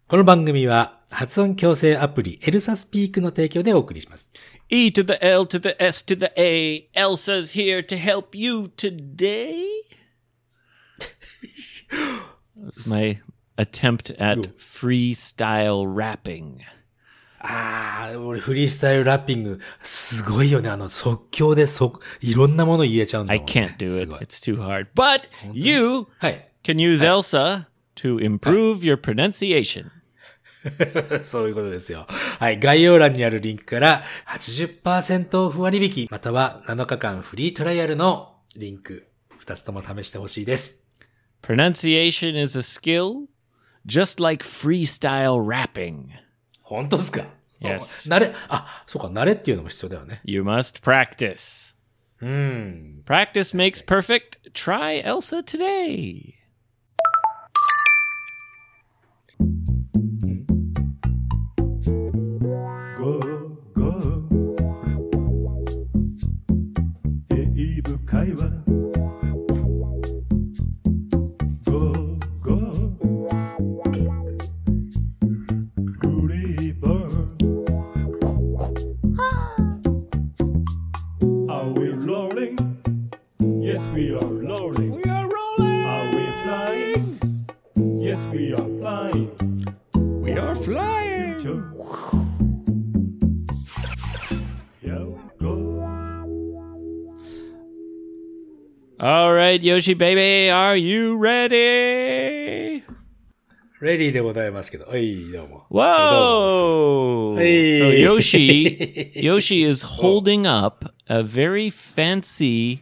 この番組は発音矯正アプリエルサスピークの提供でお送りします。 E to the L to the S to the A. Elsa's here to help you today. That's my attempt at freestyle rapping. 俺フリースタイルラッピング、すごいよね。即興でいろんなもの言えちゃうんだもんね。 I can't do it. It's too hard. But you はい。 can use Elsa to improve your pronunciation. そういうことですよ。はい。概要欄にあるリンクから 80% オフ割引、または7日間フリートライアルのリンク、2つとも試してほしいです。 Pronunciation is a skill, just like freestyle rapping. 本当ですか？ Yes. そうか、慣れっていうのも必要だよね。 You must practice. Practice makes perfect. Try Elsa today. Go, go. 英語会話 Go, go. River. Are we rolling? Yes, we are rolling. We are rolling. Are we flying? Yes, we are flying. We are flying. Yeah, go. All right, Yoshi baby, are you ready? レディーでございますけど。はい、どうも。 Whoa! Hey. So Yoshi is holding up a very fancy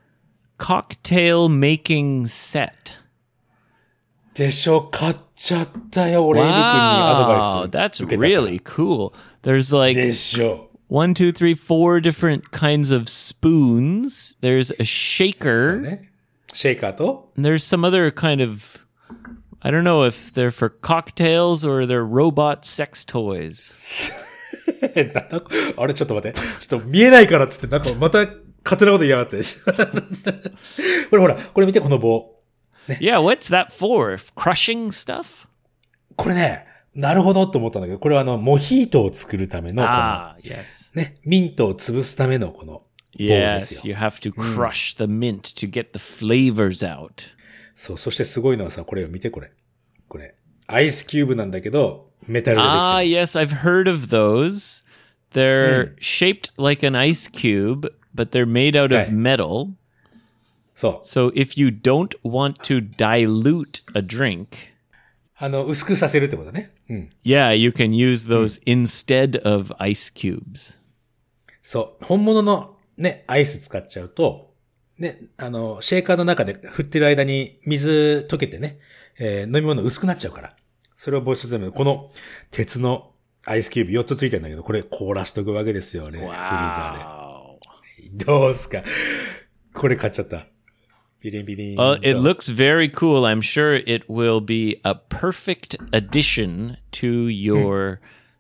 cocktail making set. でしょ、買っちゃったよ。俺、エイブ君にアドバ Wow, イス that's 受けたから。 really cool. There's like でしょ。 1, 2, 3, 4 different kinds of spoons. There's a そう shaker. ね。シェイカーと And there's some other kind of, I don't know if they're for cocktails or they're robot sex toys. あれ、ちょっと待って。ちょっと見えないからっつって、なんかまた勝手なこと言いやがって。これほら、これ見て、この棒。 Yeah, what's that for? Crushing stuff? これね、なるほどと思ったんだけど、これはモヒートを作るための、この、 yes. ね、ミントを潰すためのこの棒です Yes, よ。 you have to crush the mint to get the flavors out. そう、そしてすごいのはさ、これを見て、これ。これ、アイスキューブなんだけど、メタルでできてる。 Yes, I've heard of those. They're shaped like an ice cube, but they're made out of Right. metal. そう。 So if you don't want to dilute a drink, 薄くさせるってことね。 yeah, you can use those instead of ice cubes. そう。本物のね、アイス使っちゃうと、ね、シェーカーの中で振ってる間に水溶けてね、飲み物薄くなっちゃうから。それを防止するために、この鉄のアイスキューブ4つついてるんだけど、これ凍らしとくわけですよね。フリーザーで。どうすか？これ買っちゃった。ビリンビリン。 It looks very cool. I'm sure it will be a perfect addition to your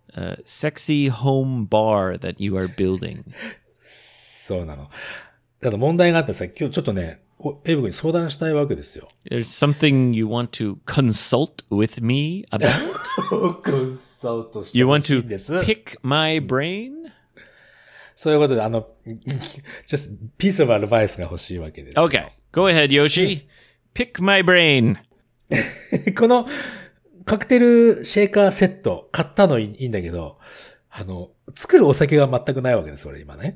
sexy home bar that you are building. そうなの。ただ問題があってさ、今日ちょっとね、エイブ君に相談したいわけですよ。 There's something you want to consult with me about? コンサルトして You ほ want しい to んです。 pick my brain? そういうことで、just piece of advice が欲しいわけです。 Okay, go ahead, Yoshi. Pick my brain. このカクテルシェーカーセット買ったのいいんだけど、作るお酒が全くないわけです、俺今ね。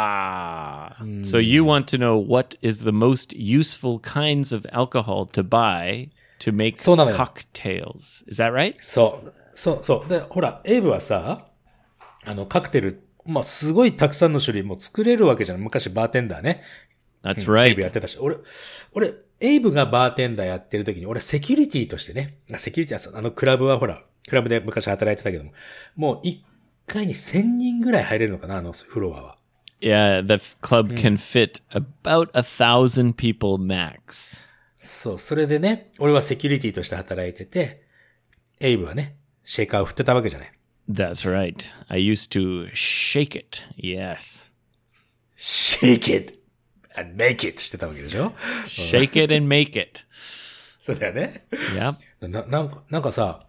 So you want to know what is the most useful kinds of alcohol to buy to make そうなのよ。 cocktails. Is that right? そう。で、ほら、エイブはさ、カクテル、まあ、すごいたくさんの種類も作れるわけじゃん。昔バーテンダーね。 That's エイブや right. ってたし、俺、エイブがバーテンダーやってる時に、俺セキュリティとしてね、セキュリティはクラブはほら、クラブで昔働いてたけども、もう1回に1000人ぐらい入れるのかな、フロアは。 Yeah, the club can fit about 1,000 people max. そう、それでね、俺はセキュリティとして働いてて、エイブはね、シェイカーを振ってたわけじゃない。 That's right. I used to shake it. Yes. shake it and make it してたわけでしょ？ Shake it and make it. そうだよね。 Yep. なんかさ、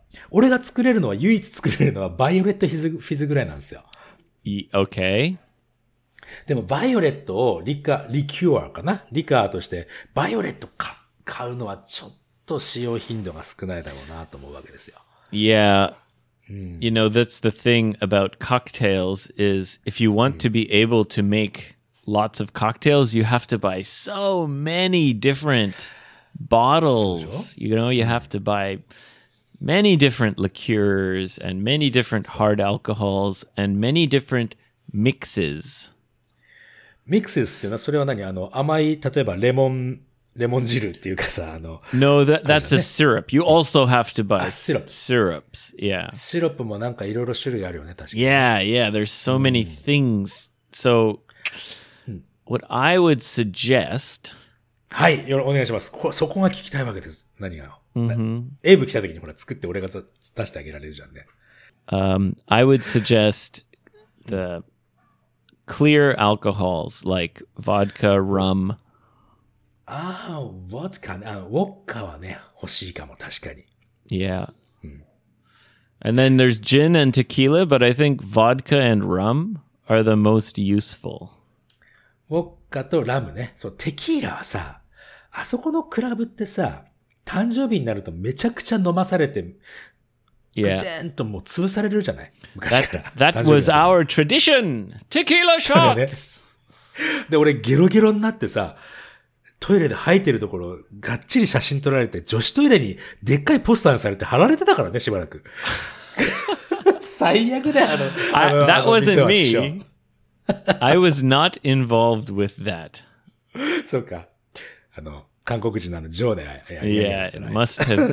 俺が作れるのは、唯一作れるのは、バイオレットフィズぐらいなんですよ。 Okay. でも、バイオレットをリキュアかなリカーとして、バイオレット買うのはちょっと使用頻度が少ないだろうなと思うわけですよ。 Yeah. You know, that's the thing about cocktails is if you want to be able to make lots of cocktails, you have to buy so many different bottles. You know, you have to buy many different liqueurs and many different hard alcohols and many different mixes. ミックスっていうのは、それは何甘い、例えばレモン汁っていうかさ、 No, that's a syrup. You also have to buy syrup. syrups. Yeah. シロップもなんかいろいろ種類あるよね、確かに。 Yeah. There's so many things. So, what I would suggest. はい、お願いします。そこが聞きたいわけです。何が。エイブ来た時にほら作って俺が出してあげられるじゃんね。 I would suggest the clear alcohols like vodka, rum. ウォッカね。ウォッカはね、欲しいかも、確かに。 Yeah. And then there's gin and tequila, but I think vodka and rum are the most useful. ウォッカとラムね。そう、テキーラはさ、あそこのクラブってさ、誕生日になるとめちゃくちゃ飲まされて、ぐて Yeah. ーんともう潰されるじゃない昔から。 That was our tradition. Tequila shots. で、俺ゲロゲロになってさ、トイレで吐いてるところ、がっちり写真撮られて、女子トイレにでっかいポスターにされて貼られてたからね、しばらく。最悪だよ、 That wasn't 店は me. I was not involved with that. そうか。韓国人のジョーでやり Yeah, it must have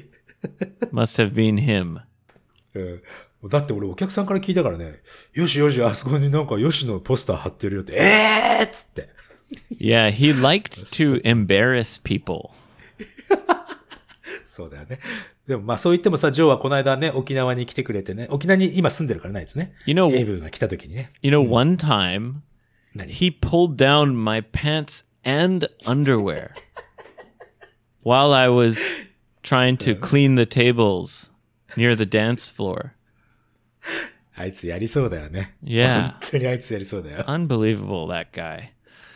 been him. だって俺お客さんから聞いたからね、よし、あそこになんかよしのポスター貼ってるよって、っつって。 Yeah, he liked to embarrass people. そうだよね。でもまあそう言ってもさ、ジョーはこの間ね、沖縄に来てくれてね、沖縄に今住んでるからないですね。 You know- エイブが来た時にね。 One time, 何 he pulled down my pants and underwear while I was trying to clean the tables near the dance floor. あいつやりそうだよね。 Yeah. 本当にあいつやりそうだよ。 Unbelievable, that guy.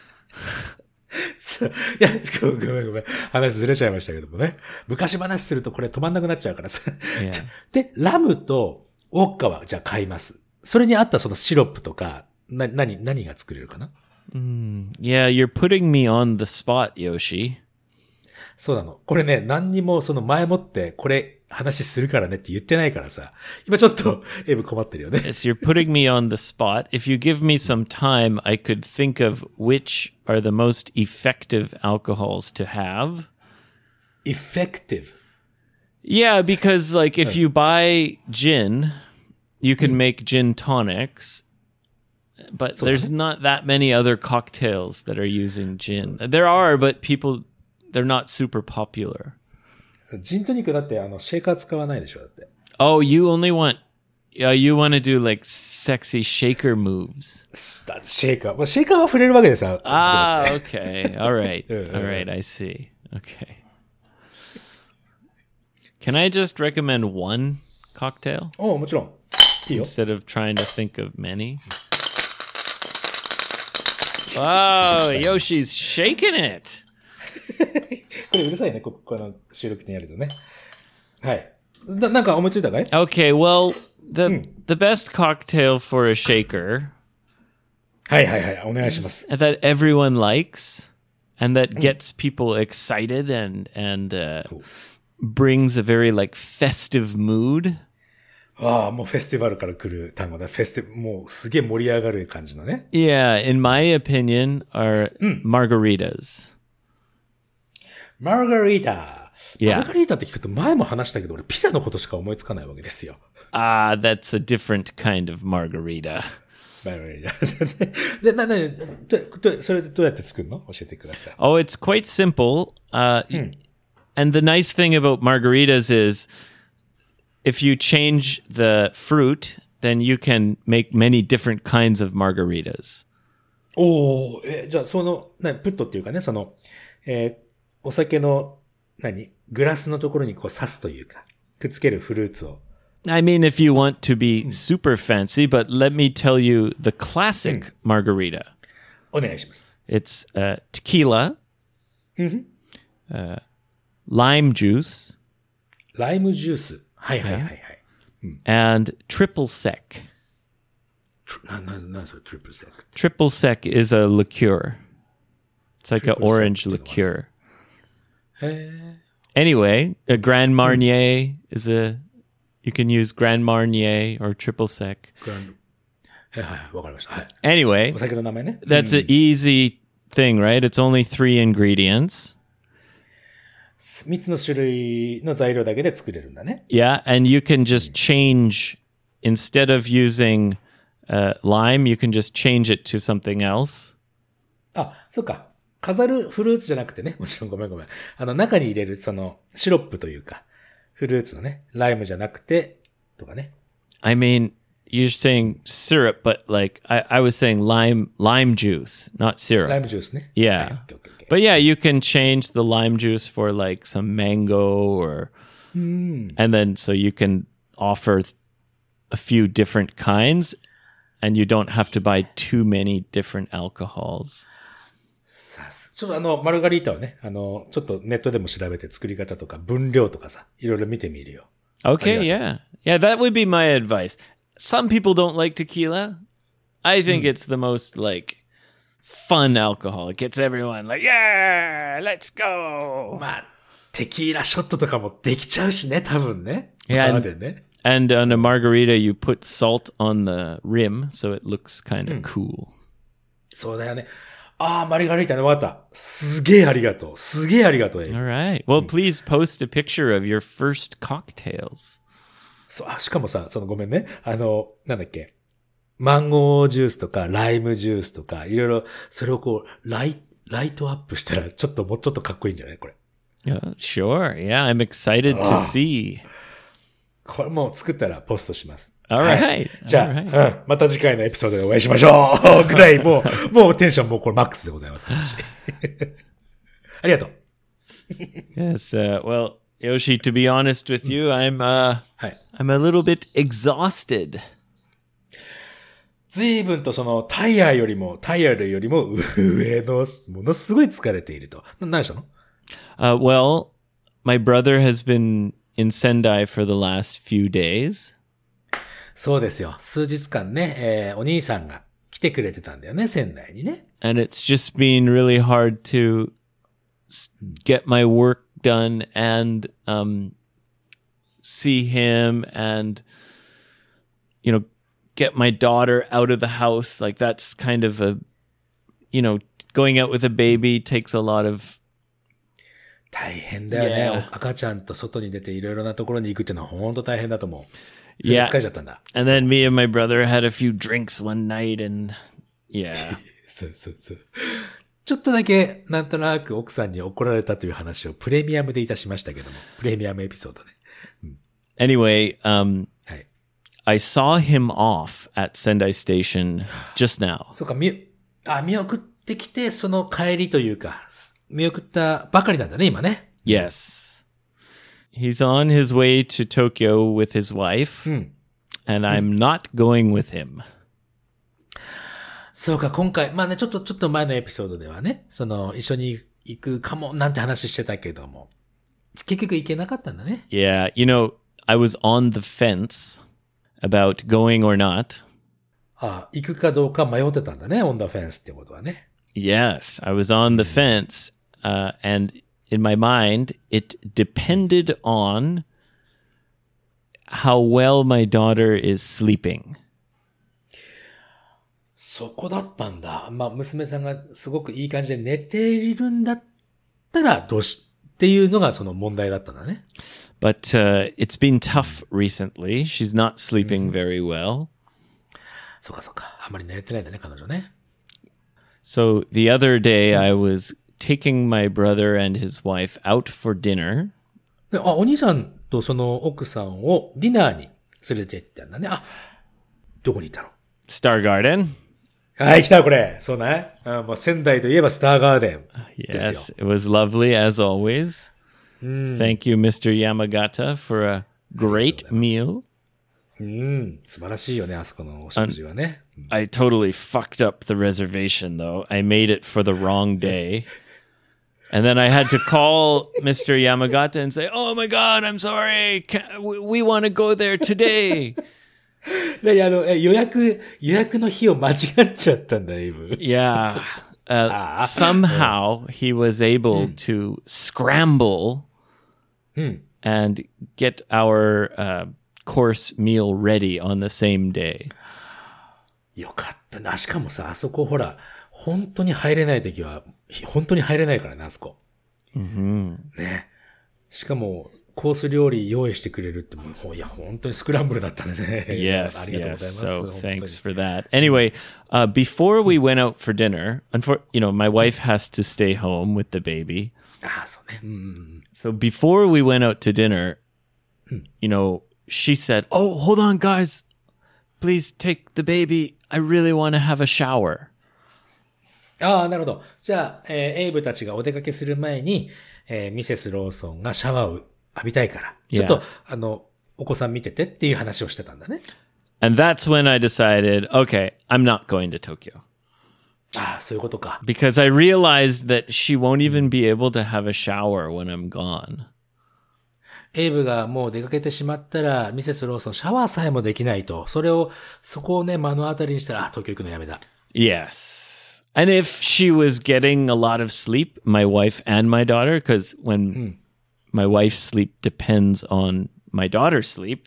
いや、ごめん。話ずれちゃいましたけどもね。昔話するとこれ止まんなくなっちゃうからさ。 Yeah. で、ラムとウォッカはじゃあ買います。それに合ったそのシロップとか、何が作れるかな？ Yeah, you're putting me on the spot, Yoshi. そうなの。これね、何にもその前もってこれ話するからねって言ってないからさ。今ちょっとエイブ困ってるよね。 Yes, you're putting me on the spot. If you give me some time, I could think of which are the most effective alcohols to have. effective. Yeah, because like if you buy gin, you can make gin tonics, but there's not that many other cocktails that are using gin. There are, but they're not super popular. ジントニックだってシェーカー使わないでしょだって。 Oh, you want to do like sexy shaker moves. シェーカー。シェーカーは触れるわけですよ。 Ah, okay. All right. All right, I see. Okay. Can I just recommend one cocktail おうもちろん。いいよ。 instead of trying to think of many? Oh, Yoshi's shaking it. これうるさいね、この収録にやるとね。はい。なんか思いついたかい？ Okay, well, the best cocktail for a shaker はい、お願いします。 that everyone likes and that gets people excited and brings a very like festive mood. ああ、もうフェスティバルから来る単語だ。もうすげえ盛り上がる感じのね。 Yeah, in my opinion, are margaritas. マーガリータ。 Yeah. マーガリータって聞くと前も話したけど、俺ピザのことしか思いつかないわけですよ。 Ah, that's a different kind of margarita. マーガリータ。で、それでどうやって作るの？教えてください。 Oh, it's quite simple. And the nice thing about margaritas is if you change the fruit, then you can make many different kinds of margaritas. おー、じゃあプットっていうかね、お酒の、グラスのところにこう刺すというか、 くっつけるフルーツを。 I mean, if you want to be super fancy, but let me tell you the classic margarita. お願いします。 It's tequila, lime juice, ライムジュース。はいはいはいはい。 and triple sec. なんそれ、トリプルセック。 Triple sec is a liqueur. It's like an Triple orange sec liqueur. へ Anyway, a Grand Marnier is a... You can use Grand Marnier or triple sec. はいはい、わかりました。はい。 Anyway, お酒の名前ね。 that's an easy thing, right? It's only 3 ingredients. 3つの種類の材料だけで作れるんだね。 Yeah, and you can just change... Instead of using lime, you can just change it to something else. あ、そっか。飾るフルーツじゃなくてね。もちろんごめん。中に入れるそのシロップというか、フルーツのね、ライムじゃなくて、とかね。 I mean, you're saying syrup, but like I was saying lime juice, not syrup. ライムジュースね。 Yeah. はい、オッケーオッケーオッケー。 But yeah, you can change the lime juice for like some mango or and then so you can offer a few different kinds and you don't have to buy too many different alcohols. ちょっとマルガリータはね、ちょっとネットでも調べて作り方とか分量とかさ、いろいろ見てみるよ。 Okay, yeah. Yeah, that would be my advice. Some people don't like tequila. I think it's the most like fun alcohol. It gets everyone like, yeah, let's go. まあ、テキーラショットとかもできちゃうしね、多分ね。 いやバーでね。 And on a margarita, you put salt on the rim, so it looks kind of cool. そうだよね。ああ、マルガリータね、わかった。すげえありがとう。すげえありがとう、エイブ。 All right. Well, please post a picture of your first cocktails. そう、しかもさ、ごめんね。なんだっけ。マンゴージュースとか、ライムジュースとか、いろいろ、それをこう、ライトアップしたら、もうちょっとかっこいいんじゃないこれ。 Sure. Yeah, I'm excited to see. これもう作ったらポストします。 All は right. い。じゃあ、 All right. また次回のエピソードでお会いしましょうぐらい、もうテンションもうこれマックスでございます。私ありがとう。 Yes. Well, Yoshi, to be honest with you, I'm はい。 a little bit exhausted. 随分とタイヤよりも上の、ものすごい疲れていると。何したの？ Well, my brother has been in Sendai for the last few days. そうですよ。数日間ね、お兄さんが来てくれてたんだよね、仙台にね。 And it's just been really hard to get my work done and see him and, get my daughter out of the house. Like that's kind of going out with a baby takes a lot of... 大変だよね。 Yeah. 赤ちゃんと外に出ていろいろなところに行くっていうのは本当大変だと思う。 Yeah. 疲れちゃったんだ。 And then me and my brother had a few drinks one night and yeah. そう。ちょっとだけ、なんとなく奥さんに怒られたという話をプレミアムでいたしましたけども。プレミアムエピソードね。 Anyway, はい。 I saw him off at Sendai Station just now. そうか、見送ってきて、その帰りというか、見送ったばかりなんだね、今ね。 Yes. He's on his way to Tokyo with his wife, and I'm not going with him. そうか、今回、まあね、ちょっと前のエピソードではね、一緒に行くかも、なんて話してたけども、結局行けなかったんだね。 Yeah, I was on the fence about going or not. ああ、行くかどうか迷ってたんだね、オンダフェンスってことはね。 Yes, I was on the fence, and in my mind, it depended on how well my daughter is sleeping. そこだったんだ。まあ、娘さんがすごくいい感じで寝ているんだったら、っていうのがその問題だったんだね。 But it's been tough recently. She's not sleeping very well. そうか。あんまり寝てないんだね、彼女ね。 So the other day, I was taking my brother and his wife out for dinner. でお兄さんとその奥さんをディナーに連れて行ったんだね。あ、どこに行ったの？ Star Garden. はい、来たこれ。そうね。もう仙台といえばスターガーデンですよ。 Yes, it was lovely as always. Thank you, Mr. Yamagata, for a great meal. 素晴らしいよね、あそこのお食事はね。 I totally fucked up the reservation, though. I made it for the wrong day. And then I had to call Mr. Yamagata and say, "Oh my God, I'm sorry. We want to go there today." 予約の日を間違っちゃったんだ、エイブ。 Yeah. Somehow he was able to scramble and get our course meal ready on the same day. よかったな。しかもさ、あそこほら、本当に入れないときは、本当に入れないからね、あそこ。ね。しかも、コース料理用意してくれるってもう、いや、本当にスクランブルだったね。 Yes, ありがとうござい yes. ます。 So 本当に thanks for that. Anyway, before we went out for dinner, my wife has to stay home with the baby. ああ、そうね。 So before we went out to dinner, she said, "Oh, hold on, guys. Please take the baby. I really want to have a shower." ああ、なるほど。じゃあ、エイブたちがお出かけする前に、ミセス・ローソンがシャワーを浴びたいから、ちょっと、お子さん見ててっていう話をしてたんだね。 And that's when I decided, okay, I'm not going to Tokyo. ああ、そういうことか。 Because I realized that she won't even be able to have a shower when I'm gone. エイブがもう出かけてしまったら、ミセス・ローソンシャワーさえもできないと。そこをね、目の当たりにしたら、東京行くのやめだ。 Yes. And if she was getting a lot of sleep, my wife and my daughter, because when my wife's sleep depends on my daughter's sleep,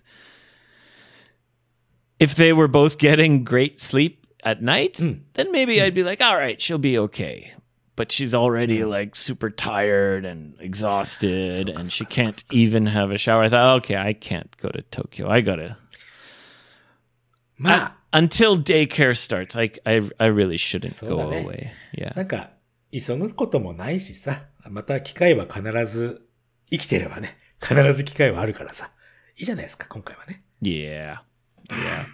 if they were both getting great sleep at night, then maybe I'd be like, all right, she'll be okay. But she's already like super tired and exhausted and she can't even have a shower. I thought, okay, I can't go to Tokyo. I gotta. まあ、 Until daycare starts, I really shouldn't そう go だね。 away. Yeah. なんか、急ぐこともないしさ、また機会は必ず、生きてればね、必ず機会はあるからさ、いいじゃないですか、今回はね。 Yeah. Yeah.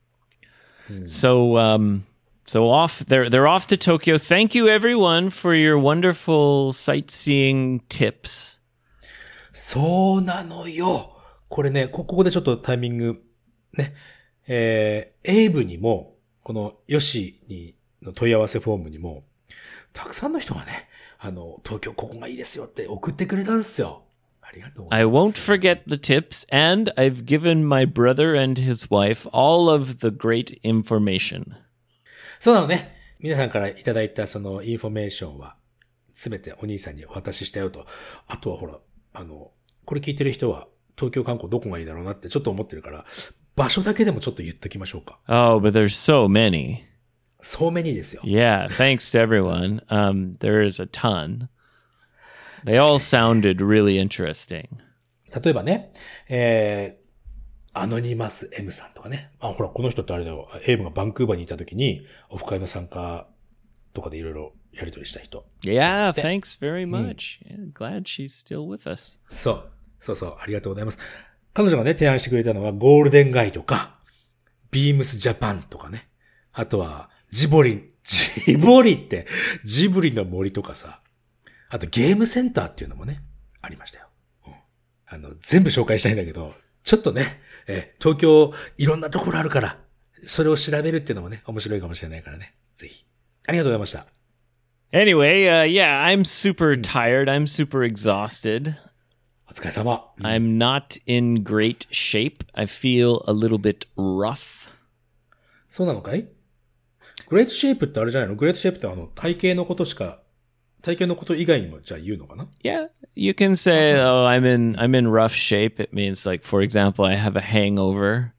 So they're off to Tokyo. Thank you everyone for your wonderful sightseeing tips. そうなのよ。これね、ここでちょっとタイミング、ね、エイブにも、このヨシにの問い合わせフォームにも、たくさんの人がね、東京ここがいいですよって送ってくれたんですよ。ありがとうござ I います。 won't forget the tips, and I've given my brother and his wife all of the great information. そうなのね。皆さんからいただいたそのインフォメーションは、すべてお兄さんにお渡ししたよと。あとはほら、これ聞いてる人は、東京観光どこがいいだろうなってちょっと思ってるから、場所だけでもちょっと言っときましょうか。 Oh, but there's so many. そうめにですよ。 Yeah, thanks to everyone. There is a ton. They all sounded really interesting. 例えばね、アノニマス M さんとかね。あ、ほら、この人ってあれだよ。エイブがバンクーバーにいた時に、オフ会の参加とかでいろいろやりとりした人。 Yeah, thanks very much. Yeah, glad she's still with us. そう、ありがとうございます。彼女がね、提案してくれたのは、ゴールデンガイとか、ビームスジャパンとかね。あとは、ジブリって、ジブリの森とかさ。あと、ゲームセンターっていうのもね、ありましたよ。全部紹介したいんだけど、ちょっとね、東京、いろんなところあるから、それを調べるっていうのもね、面白いかもしれないからね。ぜひ。ありがとうございました。 Anyway, yeah, I'm super tired. I'm super exhausted. お疲れ様。 I'm not in great shape. I feel a little bit rough. そうなのかい？グレートシェイプってあれじゃないの？グレートシェイプって体型のこと以外にもじゃあ言うのかな？ Yeah, you can say, "Oh, I'm in rough shape." It means like, for example, I have a hangover.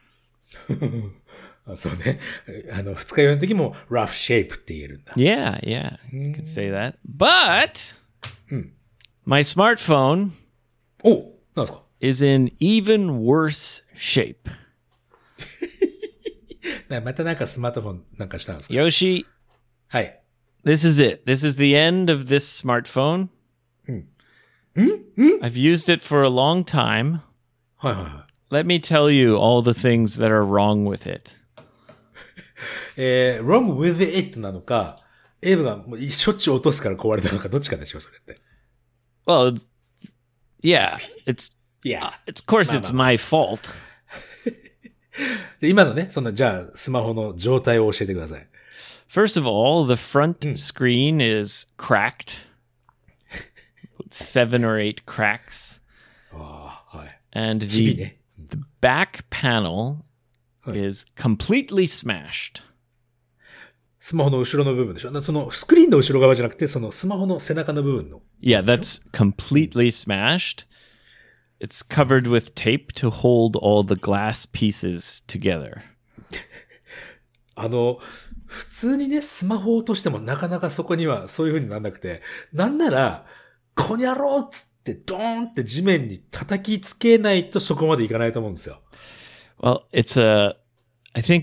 あ、そうね。二日酔いの時も rough shape って言えるんだ。 Yeah, you can say that. But my smartphone お、なんですか？ is in even worse shape. またなんかスマートフォンなんかしたんですか？ Yoshi, はい。 this is it. This is the end of this smartphone. I've used it for a long time. はいはいは Let me tell you all the things that are wrong with it. い。wrong with it なのか、エイブがもうしょっちゅう落とすから壊れたのか、どっちかでしょ、それって。 Well, yeah, it's いや。 Of course, it's my fault. で今のね、じゃあ、スマホの状態を教えてください。 First of all, the front screen is cracked. 7 or 8 cracks. ああ、はい。 And 日々 the ね。 back panel is completely smashed. スマホの後ろの部分でしょ。スクリーンの後ろ側じゃなくて、スマホの背中の部分の。 Yeah, that's completely smashed. It's covered with tape to hold all the glass pieces together. 普通にね、スマホを落としてもなかなかそこにはそういう風にならなくて、なんなら、こにゃろうっつってドーンって地面に叩きつけないとそこまでいかないと思うんですよ。 Well, I think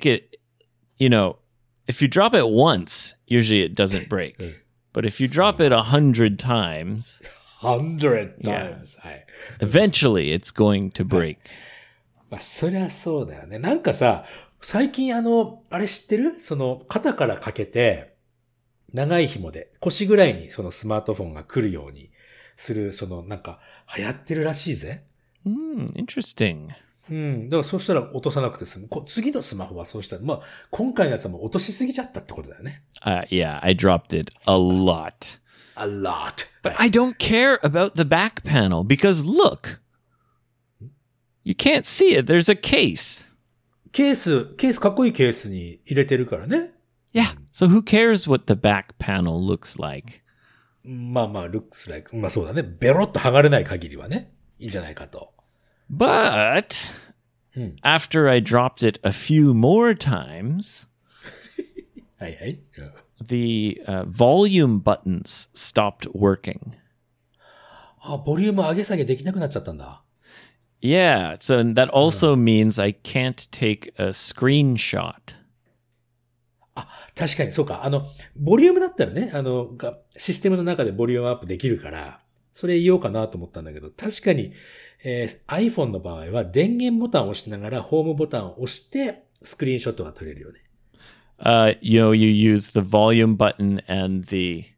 if you drop it once, usually it doesn't break. But if you drop it 100 times, 100 times. はい。 eventually it's going to break. まあ、そりゃそうだよね。なんかさ、最近あれ知ってる？肩からかけて、長い紐で、腰ぐらいにスマートフォンが来るようにする、なんか、流行ってるらしいぜ。 Interesting. うん。だからそうしたら落とさなくて済む。次のスマホはそうしたら、まあ、今回のやつはもう落としすぎちゃったってことだよね。 Yeah, I dropped it a lot. A lot. But I don't care about the back panel because look, you can't see it. There's a case. ケースかっこいいケースに入れてるからね。 Yeah. So who cares what the back panel looks like? まあまあ、looks like. まあそうだね。ベロッと剥がれない限りはね。いいんじゃないかと。 But after I dropped it a few more times, はいはい。 the volume buttons stopped working. あ、ボリューム上げ下げできなくなっちゃったんだ。 Yeah, so that also means I can't take a screenshot. あ、確かにそうか。ボリュームだったらね、システムの中でボリュームアップできるから、それ言おうかなと思ったんだけど、確かに、iPhone の場合は電源ボタンを押しながらホームボタンを押してスクリーンショットが撮れるよね。 You use the volume button and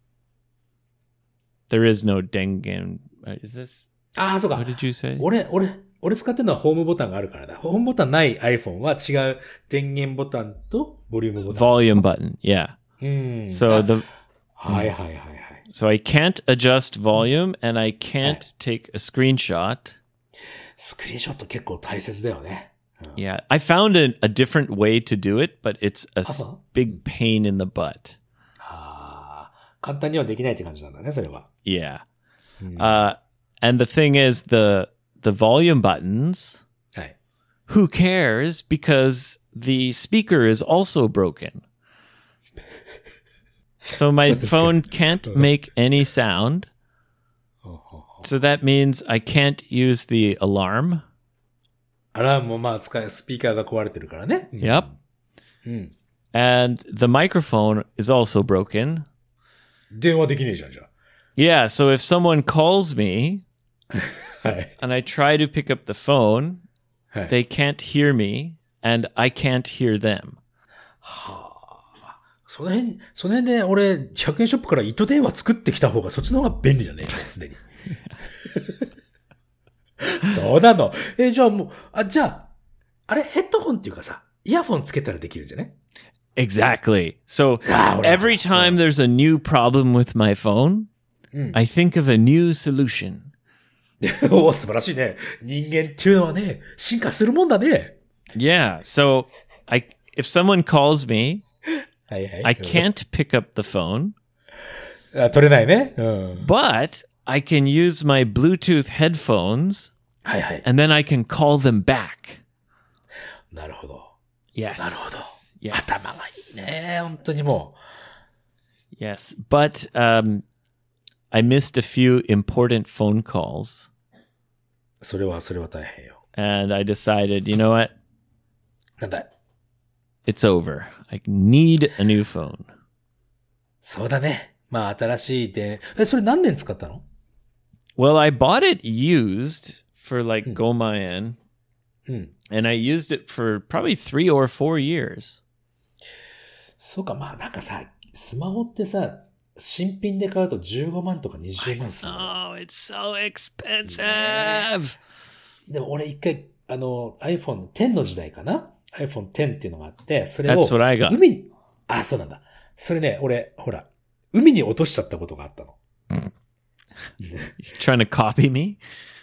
there is no dengen. Is this? ああ、そうか。 What did you say? 俺使ってるのはホームボタンがあるからだ。ホームボタンない iPhone は違う電源ボタンとボリュームボタン。 Volume button, yeah. So はいはいはいはい。 So I can't adjust volume and I can't take a screenshot. スクリーンショット結構大切だよね。 Yeah, I found a different way to do it, but it's a big pain in the butt. ああ、簡単にはできないって感じなんだね、それは。 Yeah. And the thing is, the volume buttons, はい。 who cares because the speaker is also broken. So my phone can't make any sound. So that means I can't use the alarm. アラームもまあスピーカーが壊れてるからね。 Yep. And the microphone is also broken. 電話できねえじゃん、じゃ Yeah, so if someone calls me あ。はい。 and I try to pick up the phone, はい。 they can't hear me and I can't hear them. その辺で俺、100円ショップから糸電話作ってきた方がそっちの方が便利だね、もうすでに。そうなの。じゃあもう、じゃあ、あれヘッドホンっていうかさ、イヤフォンつけたらできるんじゃね？ Exactly. So every time there's a new problem with my phone, I think of a new solution. おー、素晴らしいね。人間っていうのはね、進化するもんだね。 Yeah. So if someone calls me, はいはい。 I can't pick up the phone, 取れないね。うん。 but I can use my Bluetooth headphones はいはい。 and then I can call them back. なるほど。 Yes. なるほど。 Yes. 頭がいいね。本当にも Yes. But I missed a few important phone calls う。それは大変よ。 and I decided, you know what? なんだい。 It's over. I need a new phone. そうだね。まあ新しい電、それ何年使ったの？ Well, I bought it used for like Gomayan, うん。 and I used it for probably 3 or 4 years. そうか、まあなんかさ、スマホってさ、新品で買うと15万とか20万するの。 Oh, it's so expensive. でも俺一回、iPhone X の時代かな ?iPhone X っていうのがあって、それを That's what I got. 海に、あ、そうなんだ。それね、俺、ほら、海に落としちゃったことがあったの。 You trying to copy me?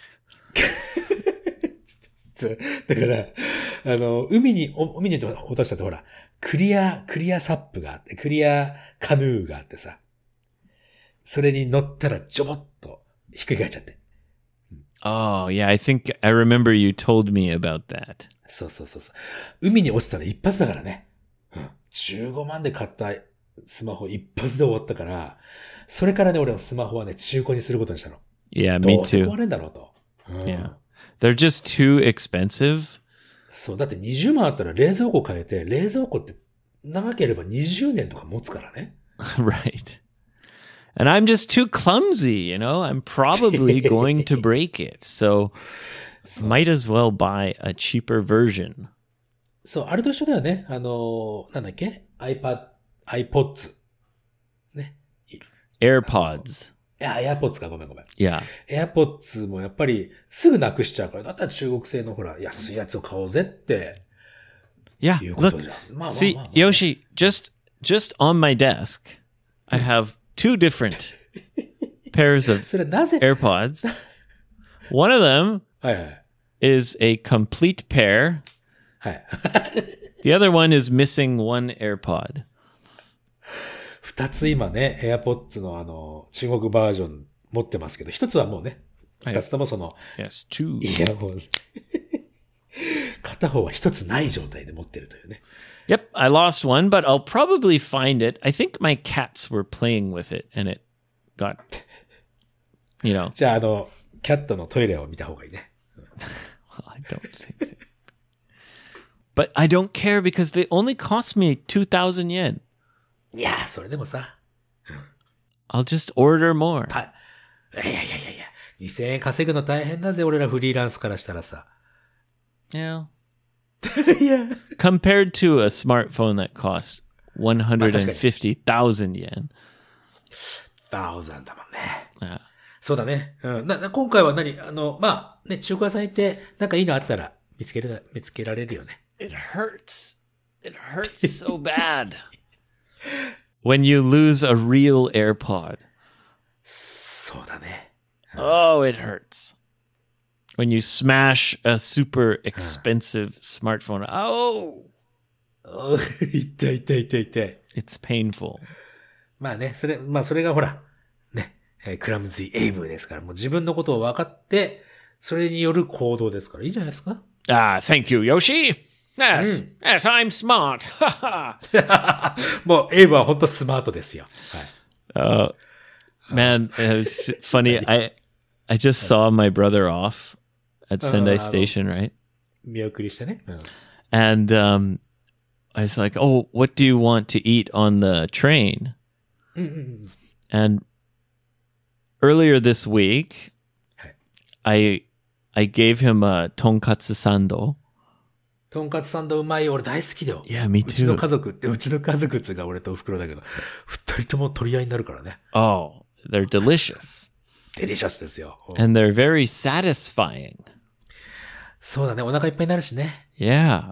だから、海に落としたってほら、クリアサップがあって、クリアカヌーがあってさ、それに乗ったらジョボッとひっくり返っちゃって。 Oh, yeah, I think I remember you told me about that. そう。海に落ちたら一発だからね。うん。15万で買ったスマホ一発で終わったから、それからね、俺のスマホはね、中古にすることにしたの。 Yeah, me どうせ too. 壊れんだろうと。うん、 Yeah. They're just too expensive. そう、だって20万あったら冷蔵庫変えて、冷蔵庫って長ければ20年とか持つからね。 Right. And I'm just too clumsy, I'm probably going to break it. So might as well buy a cheaper version. そう、あれと一緒だよね。なんだっけ iPods。ね。 AirPods. AirPods か、ごめん。 Yeah. AirPods もやっぱりすぐなくしちゃうから、だったら中国製のほら、安いやつを買おうぜって。 Yeah. いうこと Look, じゃん。まあ see, Yoshi, just on my desk, I have two different pairs of それなぜ AirPods. One of them はい。 is a complete pair. はい。 The other one is missing one AirPod. 二つ今ね、AirPods の中国バージョン持ってますけど、一つはもうね、二つともその、 Yes, two. イヤホン。片方は一つない状態で持ってるというね。 Yep, I lost one, but I'll probably find it. I think my cats were playing with it and it got, じゃあキャットのトイレを見た方がいいね。 Well, I don't think that. But I don't care because they only cost me 2,000 yen. いやー、それでもさ。 I'll just order more. いや。2000円稼ぐの大変だぜ、俺らフリーランスからしたらさ。 Yeah. いや。 Compared to a smartphone that costs 150,000 yen. 1000だもんね。 Yeah. そうだね。うん。今回はまあ、ね、中古屋さん行って、なんかいいのあったら見つけられるよね。 It hurts. It hurts so bad. When you lose a real AirPod. そうだね。 Oh, it hurts. When you smash a super expensive smartphone. Oh! 痛い。 It's painful. まあね、それがほら、ね、クラムズイエイブですから、もう自分のことを分かって、それによる行動ですから、いいじゃないですか。 Ah, thank you, Yoshi. Yes, I'm smart. もう、エイブは本当スマートですよ。はい。 Man, it was funny. I just saw my brother off at Sendai Station, right? 見送りしてね。 And I was like, "Oh, what do you want to eat on the train?" And earlier this week, I gave him a tonkatsu sando. とんかつサンドうまい。俺大好きだよ。 Yeah, me too. うちの家族っつうか俺とお袋だけど、二人とも取り合いになるからね。 Oh, they're delicious. デリシャスですよ。 And they're very satisfying. そうだね。お腹いっぱいになるしね。 Yeah.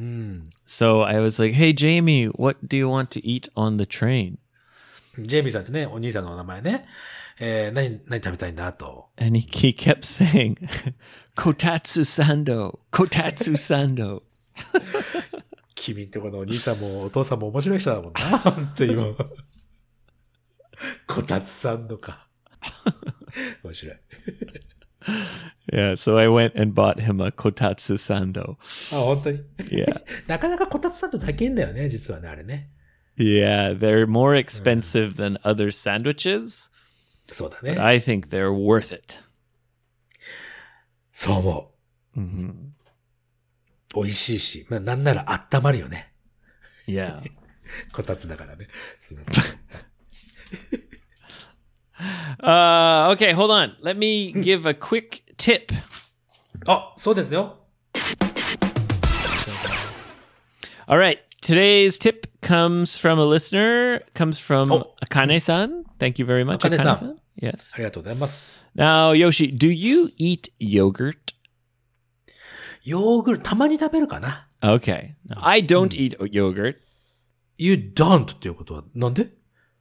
So I was like, "Hey, Jamie, what do you want to eat on the train?" ジェイミーさんってね、お兄さんのお名前ね。何食べたいんだと。 And he kept saying, "Kotatsu sando, kotatsu sando." 君んとこのお兄さんもお父さんも面白い人だもんな。本当にもう。こたつサンドか。面白い。 Yeah, so I went and bought him a kotatsu sando. あ、本当に Yeah. なかなかこたつサンド高いんだよね、実はね、あれね。 Yeah, they're more expensive than other sandwiches. そうだね。 But I think they're worth it. そう思う。美味しいし、まあ、なんなら温まるよね。 Yeah. こたつだからね。すみません。 Okay, hold on. Let me give a quick tip. あ、そうですよ。 All right. Today's tip comes from a listener, comes from Akane-san. Thank you very much, Akane-san. Akane-san. Yes. ありがとうございます。 Now, Yoshi, do you eat yogurt? ヨーグルト、たまに食べるかな。 Okay. I don't eat yogurt. You don't っていうことは、なんで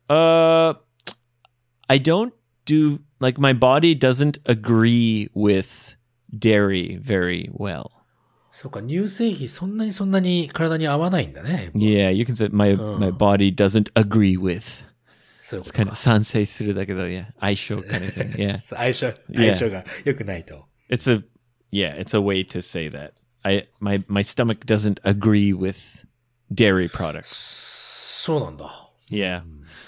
I don't do, like, my body doesn't agree with dairy very well. そうか、乳製品そんなに体に合わないんだね。 Yeah, you can say my body doesn't agree with. そういうこ It's と kind か。 of 賛成するだけど, yeah, 相性 kind of thing. Yeah. 相性が良くないと。 It's a way to say that. My stomach doesn't agree with dairy products. そうなんだ。 Yeah.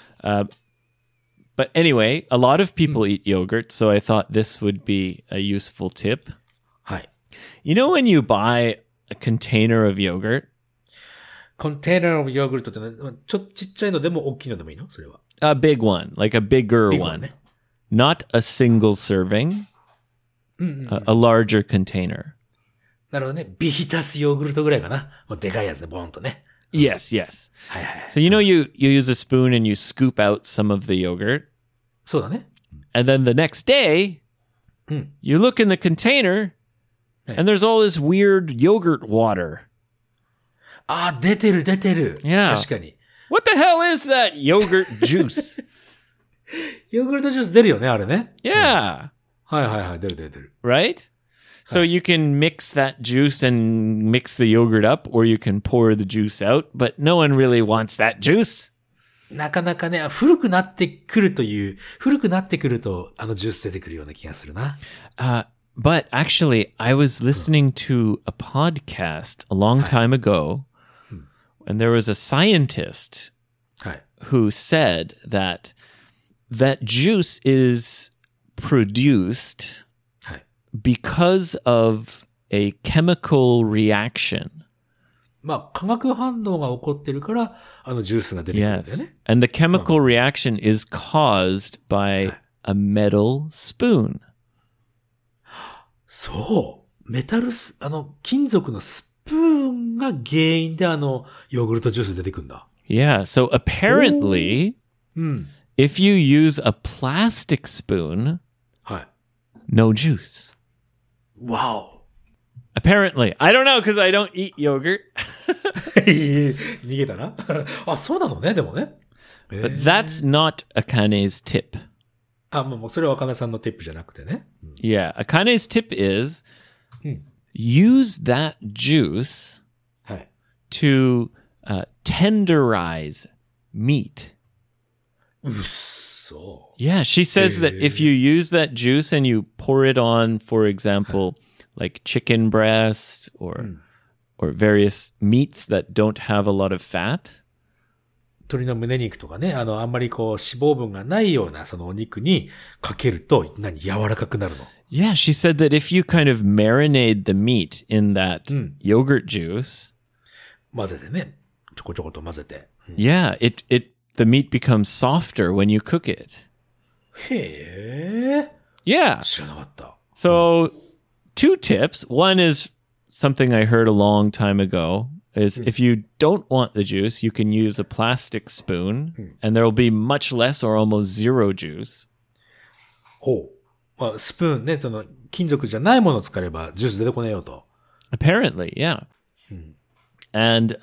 But anyway, a lot of people eat yogurt, so I thought this would be a useful tip. はい。 You know when you buy a container of yogurt? コンテナーのヨーグルトってのはちっちゃいのでも大きいのでもいいのそれは。 A big one, like a bigger Big one. one, eh? Not a single serving, a larger container. なるほどね。ビヒタスヨーグルトぐらいかな。もうでかいやつね、ボーンとね。 Yes, yes. はいはい。 So you know you use a spoon and you scoop out some of the yogurt, そうだね。 and then the next day, you look in the container, and there's all this weird yogurt water. ああ、出てる。 Yeah. 確かに。 What the hell is that yogurt juice? ヨーグルトジュース出るよね、あれね。 Yeah, はい。出る。 right? So you can mix that juice and mix the yogurt up, or you can pour the juice out, but no one really wants that juice. なかなかね、古くなってくると、あのジュース出てくるような気がするな。 But actually, I was listening to a podcast a long time ago, and there was a scientist はい。 who said that juice is produced はい。 because of a chemical reaction. まあ、化学反応が起こってるから、あのジュースが出てくるんだよ Yes. ね。 And the chemical reaction is caused by a metal spoon. そう。金属のスプーンが原因でヨーグルトジュース出てくるんだ。 Yeah. So apparently, うん。 if you use a plastic spoon, はい。 no juice. わお。 Apparently. I don't know because I don't eat yogurt. 逃げたな。あ、そうなのね、でもね。 But that's not Akane's tip. あ、もうそれは若菜さんのティップじゃなくてね。 Yeah. Akane's tip is use that juice はい。 to tenderize meat. そう。 Yeah. She says that if you use that juice and you pour it on, for example, like chicken breast or various meats that don't have a lot of fat. 鶏の胸肉とかね、あんまりこう脂肪分がないようなそのお肉にかけると、柔らかくなるの。 Yeah, she said that if you kind of marinate the meat in that yogurt juice, 混ぜてね。ちょこちょこと混ぜて。 yeah, the meat becomes softer when you cook it. へえ。 Yeah. 知らなかった。 So, two tips. One is something I heard a long time ago is if you don't want the juice, you can use a plastic spoon and there will be much less or almost zero juice. ほう。まあ、スプーンね、その金属じゃないものを使えばジュース出てこねえよと。 Apparently, yeah. And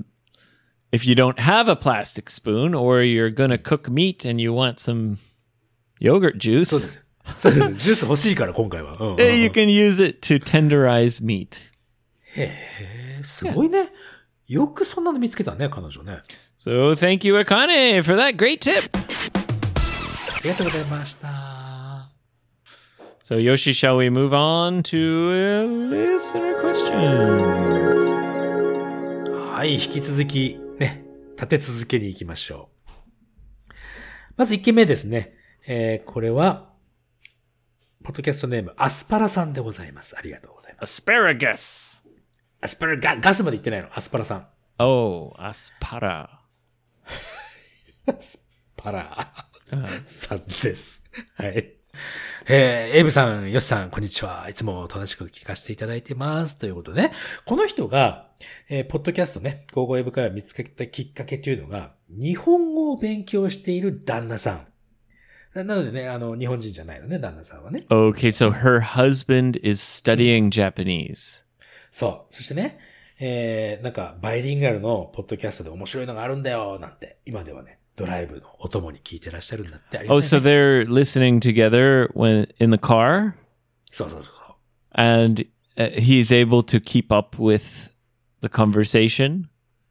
if you don't have a plastic spoon or you're going to cook meat and you want some yogurt juice, そうですよ。そうです。ジュース欲しいから今回は。うんうんうん you can use it to tenderize meat. すごいね。よくそんなの見つけたね、彼女ね。 So thank you, Akane, for that great tip. ありがとうございました。 So, Yoshi, shall we move on to listener questions? はい、引き続き、ね、立て続けに行きましょう。まず1件目ですね。これは、ポッドキャストネーム、アスパラさんでございます。ありがとうございます。 Asparagus. アスパラ、ガスまで言ってないの。アスパラさん。 Oh, aspara. アスパラさんです。はい。エイブさん、ヨシさん、こんにちは。いつも楽しく聞かせていただいてます。ということでね、この人が、ポッドキャストね、ゴーゴーエブ会を見つけたきっかけというのが、日本語を勉強している旦那さん。なのでね、日本人じゃないのね、旦那さんはね。 Okay, so her husband is studying Japanese. そう。そしてね、なんか、バイリンガルのポッドキャストで面白いのがあるんだよ、なんて、今ではね、ドライブのお供に聞いてらっしゃるんだって。ありが Oh, たい so ね。 they're listening together when in the car, そうそうそう。 and he's able to keep up with the conversation.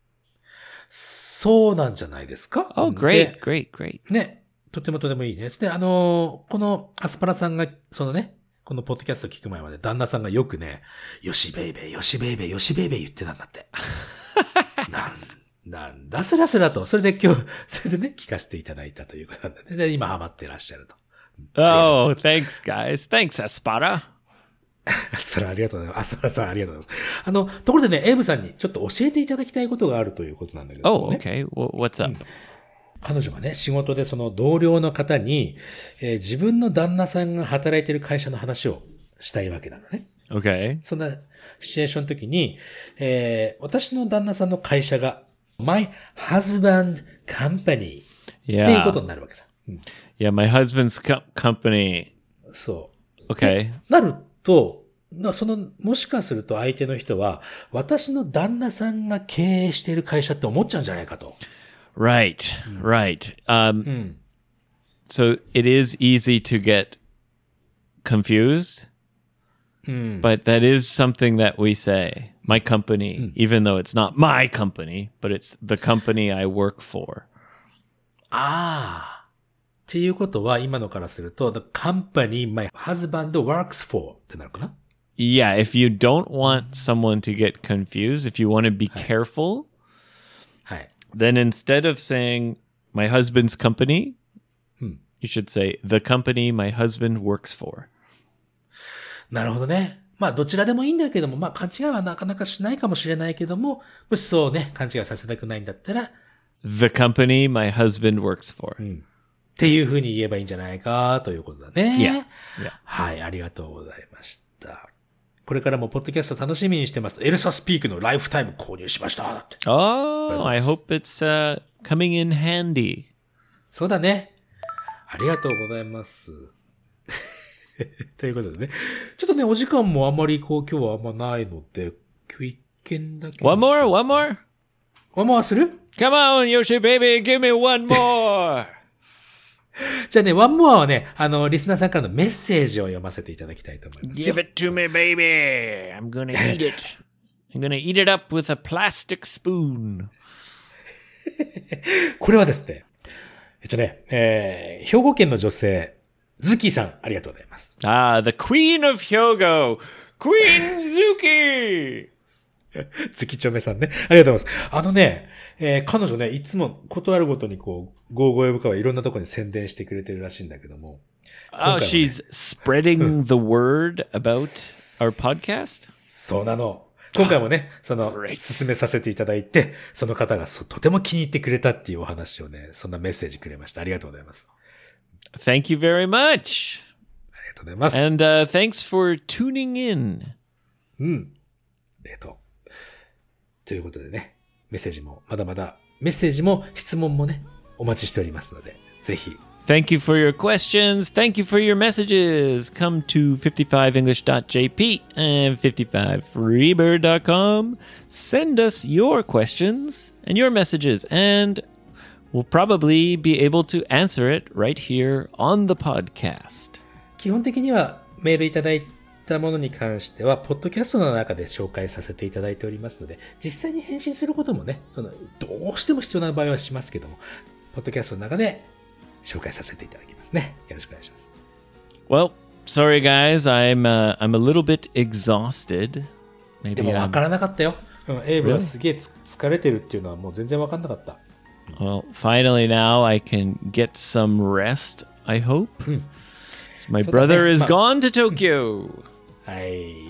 そうなんじゃないですか。 Oh, で great. ね、とてもとてもいいね。で、このアスパラさんが、そのね、このポッドキャスト聞く前まで旦那さんがよくね、よしベイベー、よしベイベー、よしベイベー言ってたんだって。なんだそらそらと。それで今日、それでね、聞かせていただいたということなんで、ね、で今ハマってらっしゃると。 Oh, thanks, guys. Thanks, Aspara. アスパラありがとうございます。アスパラさんありがとうございます。ところでね、エイブさんにちょっと教えていただきたいことがあるということなんだけど、ね。 Oh, okay. What's up? 彼女がね、仕事でその同僚の方に、自分の旦那さんが働いている会社の話をしたいわけなのね。 Okay. そんなシチュエーションの時に、私の旦那さんの会社が My Husband Company っていうことになるわけさ。 Yeah, my husband's company. そう。 Okay. なると、もしかすると相手の人は、私の旦那さんが経営している会社って思っちゃうんじゃないかと。 Right. So it is easy to get confused, but that is something that we say. My company, even though it's not my company, but it's the company I work for. っていうことは、今のからすると、the company my husband works for ってなるかな？ Yeah, if you don't want someone to get confused, if you want to be careful, はい。 then instead of saying my husband's company, you should say the company my husband works for. なるほどね。まあ、どちらでもいいんだけども、まあ、勘違いはなかなかしないかもしれないけども、もしそうね、勘違いさせたくないんだったら、 The company my husband works for. っていう風に言えばいいんじゃないか、ということだね。 Yeah. はい、ありがとうございました。これからもポッドキャスト楽しみにしてます。エルサスピークのライフタイム購入しました。だって。 Oh, I hope it's coming in handy. そうだね。ありがとうございます。ということでね。ちょっとね、お時間もあんまり今日はあんまないので、今日一件だけ。 One more? One more する？ Come on, Yoshi baby, give me one more. じゃあね、One more はね、リスナーさんからのメッセージを読ませていただきたいと思いますよ。 Give it to me, baby. I'm gonna eat it. I'm gonna eat it up with a plastic spoon. これはですね、兵庫県の女性、ズキさん、ありがとうございます。 Ah, the queen of Hyogo, Queen Zuki. ズキチョメさんね。ありがとうございます。彼女ね、いつもことあるごとにこう、ゴーゴーエブカはいろんなところに宣伝してくれてるらしいんだけども。 Oh, she's spreading the word about our podcast? そうなの。今回もね、進めさせていただいて、その方がとても気に入ってくれたっていうお話をね、そんなメッセージくれました。ありがとうございます。 Thank you very much. ありがとうございます。 And thanks for tuning in. ありがとう。ということでね、メッセージも質問もね、お待ちしておりますので、ぜひ。 Thank you for your questions. Thank you for your messages. Come to 55english.jp and 55freebird.com. Send us your questions and your messages, and we'll probably be able to answer it right here on the podcast. 基本的にはメールいただいたものに関しては、ポッドキャストの中で紹介させていただいておりますので、実際に返信することもね、どうしても必要な場合はしますけども、ポッドキャストの中で紹介させていただきますね。よろしくお願いします。 Well, sorry guys, I'm a little bit exhausted. でも分からなかったよ。エイブはすげえ疲れてるっていうのはもう全然分かんなかった。 Well, finally now I can get some rest, I hope. So my brother is gone to Tokyo. はい。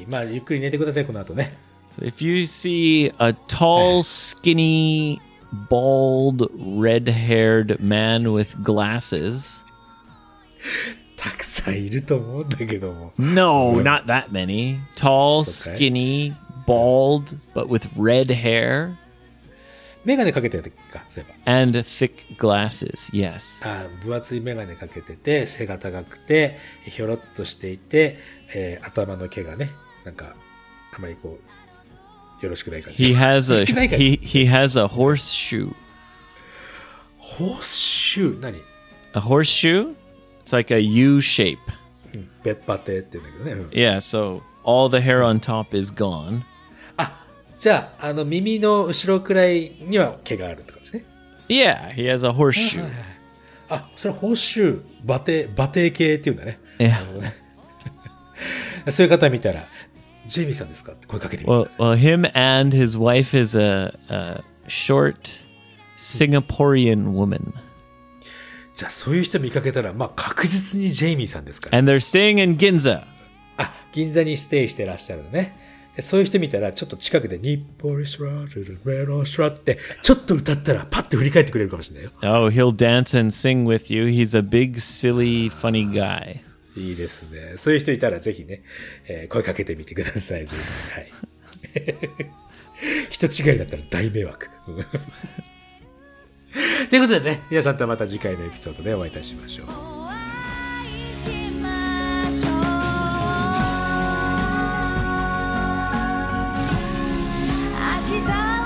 まあ、ゆっくり寝てください、この後ね。 So if you see a tall, skinny, bald, red-haired man with glasses... たくさんいると思うんだけども。 No, not that many. Tall, skinny, bald, but with red hair. メガネかけてたか、そういえば。 And thick glasses, yes. 分厚いメガネかけてて、背が高くて、ひょろっとしていて、頭の毛がね、なんか、あまりこう、 よろしくない感じ。 He has しくない a 感じ。 he has a horseshoe. ホースシュー、何 A horseshoe? It's like a U shape. ベッパテって言うんだけどね。 Yeah, so all the hair on top is gone. じゃあ、耳の後ろくらいには毛があるってことですね。 Yeah, he has a horseshoe. それはホースシュー、馬蹄系っていうんだね。 Yeah. そういう方見たら、ジェイミーさんですかって声かけてみてく Well, ださい。 well, him and his wife is a short Singaporean woman, じゃあ、そういう人見かけたら、まあ、確実にジェイミーさんですから。 and they're staying in Ginza. 銀座にステイしてらっしゃるのね。でそういう人見たら、ちょっと近くで、ニッポリスラルルメロスラって、ちょっと歌ったら、パッと振り返ってくれるかもしれないよ。 Oh, he'll dance and sing with you. He's a big, silly, funny guy. いいですね。そういう人いたら、ぜひね、声かけてみてください。ぜひ。はい。人違いだったら大迷惑。ということでね、皆さんとはまた次回のエピソードでお会いいたしましょう。 お会いしましょう。明日